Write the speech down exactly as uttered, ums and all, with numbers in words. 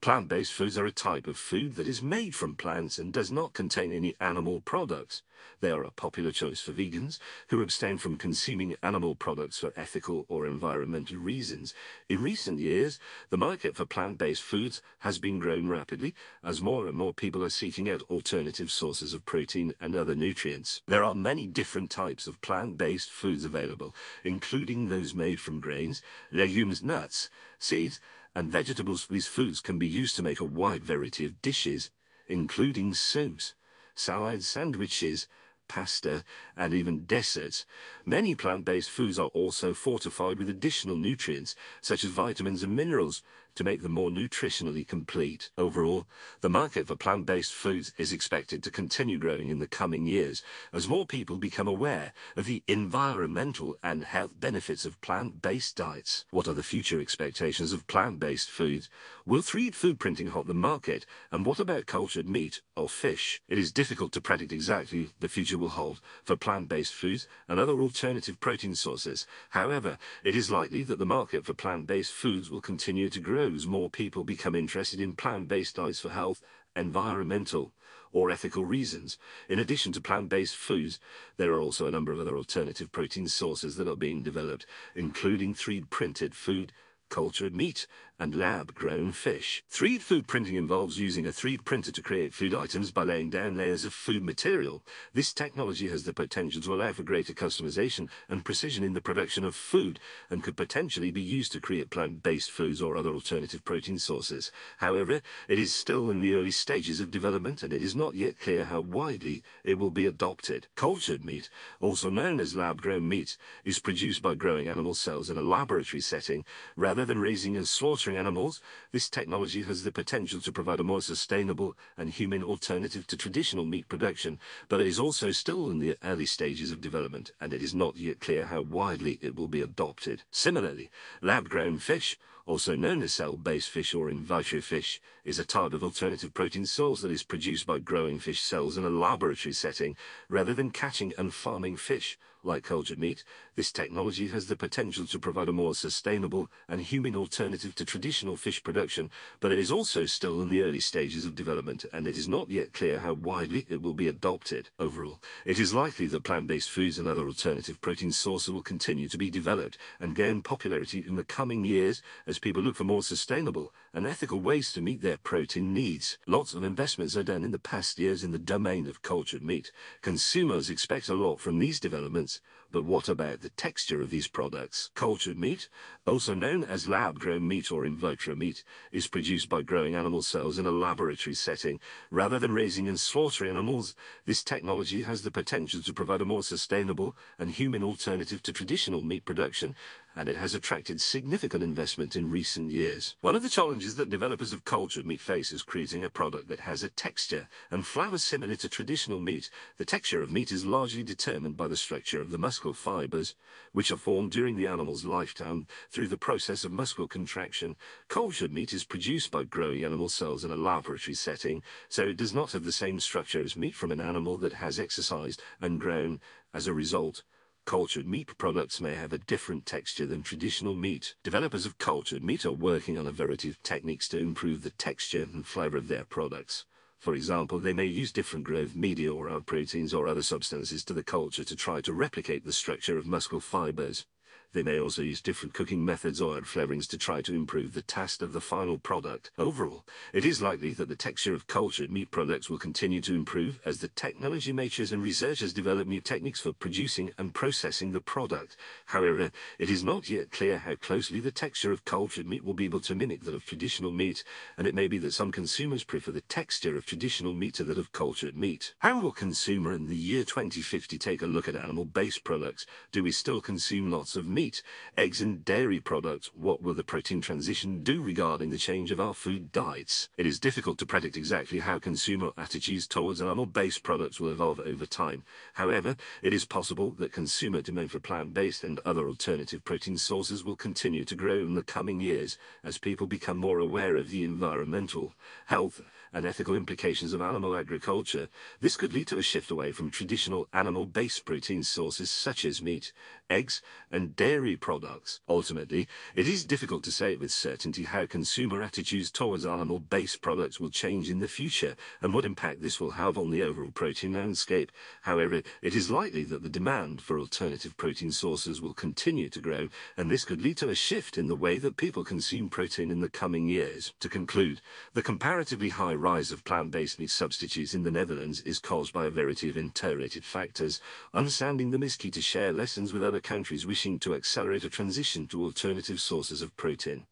Plant-based foods are a type of food that is made from plants and does not contain any animal products. They are a popular choice for vegans who abstain from consuming animal products for ethical or environmental reasons. In recent years, the market for plant-based foods has been growing rapidly as more and more people are seeking out alternative sources of protein and other nutrients. There are many different types of plant-based foods available, including those made from grains, legumes, nuts, seeds, and vegetables. These foods can be used to make a wide variety of dishes, including soups, salads, sandwiches, pasta, and even desserts. Many plant-based foods are also fortified with additional nutrients, such as vitamins and minerals, to make them more nutritionally complete. Overall, the market for plant-based foods is expected to continue growing in the coming years as more people become aware of the environmental and health benefits of plant-based diets. What are the future expectations of plant-based foods? Will three D food printing halt the market? And what about cultured meat or fish? It is difficult to predict exactly the future will hold for plant-based foods and other alternative protein sources. However, it is likely that the market for plant-based foods will continue to grow as more people become interested in plant-based diets for health, environmental, or ethical reasons. In addition to plant-based foods, there are also a number of other alternative protein sources that are being developed, including three D printed food, cultured meat, and lab-grown fish. three D food printing involves using a three D printer to create food items by laying down layers of food material. This technology has the potential to allow for greater customization and precision in the production of food, and could potentially be used to create plant-based foods or other alternative protein sources. However, it is still in the early stages of development, and it is not yet clear how widely it will be adopted. Cultured meat, also known as lab-grown meat, is produced by growing animal cells in a laboratory setting rather than raising and slaughtering animals. This technology has the potential to provide a more sustainable and human alternative to traditional meat production, but it is also still in the early stages of development, and it is not yet clear how widely it will be adopted. Similarly, lab-grown fish, also known as cell-based fish or in vitro fish, is a type of alternative protein source that is produced by growing fish cells in a laboratory setting rather than catching and farming fish. Like cultured meat, this technology has the potential to provide a more sustainable and human alternative to traditional fish production, but it is also still in the early stages of development, and it is not yet clear how widely it will be adopted. Overall, it is likely that plant-based foods and other alternative protein sources will continue to be developed and gain popularity in the coming years as people look for more sustainable and ethical ways to meet their protein needs. Lots of investments are done in the past years in the domain of cultured meat. Consumers expect a lot from these developments, but what about the texture of these products? Cultured meat, also known as lab-grown meat or in vitro meat, is produced by growing animal cells in a laboratory setting rather than raising and slaughtering animals. This technology has the potential to provide a more sustainable and human alternative to traditional meat production, and it has attracted significant investment in recent years. One of the challenges that developers of cultured meat face is creating a product that has a texture and flavor similar to traditional meat. The texture of meat is largely determined by the structure of the muscle fibers, which are formed during the animal's lifetime through the process of muscle contraction. Cultured meat is produced by growing animal cells in a laboratory setting, so it does not have the same structure as meat from an animal that has exercised and grown. As a result, cultured meat products may have a different texture than traditional meat. Developers of cultured meat are working on a variety of techniques to improve the texture and flavor of their products. For example, they may use different growth media or other proteins or other substances to the culture to try to replicate the structure of muscle fibers. They may also use different cooking methods or add flavorings to try to improve the taste of the final product. Overall, it is likely that the texture of cultured meat products will continue to improve as the technology makers and researchers develop new techniques for producing and processing the product. However, it is not yet clear how closely the texture of cultured meat will be able to mimic that of traditional meat, and it may be that some consumers prefer the texture of traditional meat to that of cultured meat. How will consumer in the year twenty fifty take a look at animal-based products? Do we still consume lots of meat? Meat, eggs and dairy products? What will the protein transition do regarding the change of our food diets? It is difficult to predict exactly how consumer attitudes towards animal-based products will evolve over time. However, it is possible that consumer demand for plant-based and other alternative protein sources will continue to grow in the coming years as people become more aware of the environmental, health, and ethical implications of animal agriculture. This could lead to a shift away from traditional animal-based protein sources such as meat, eggs, and dairy dairy products. Ultimately, it is difficult to say with certainty how consumer attitudes towards animal-based products will change in the future and what impact this will have on the overall protein landscape. However, it is likely that the demand for alternative protein sources will continue to grow, and this could lead to a shift in the way that people consume protein in the coming years. To conclude, the comparatively high rise of plant-based meat substitutes in the Netherlands is caused by a variety of interrelated factors. Understanding them is key to share lessons with other countries wishing to accelerate a transition to alternative sources of protein.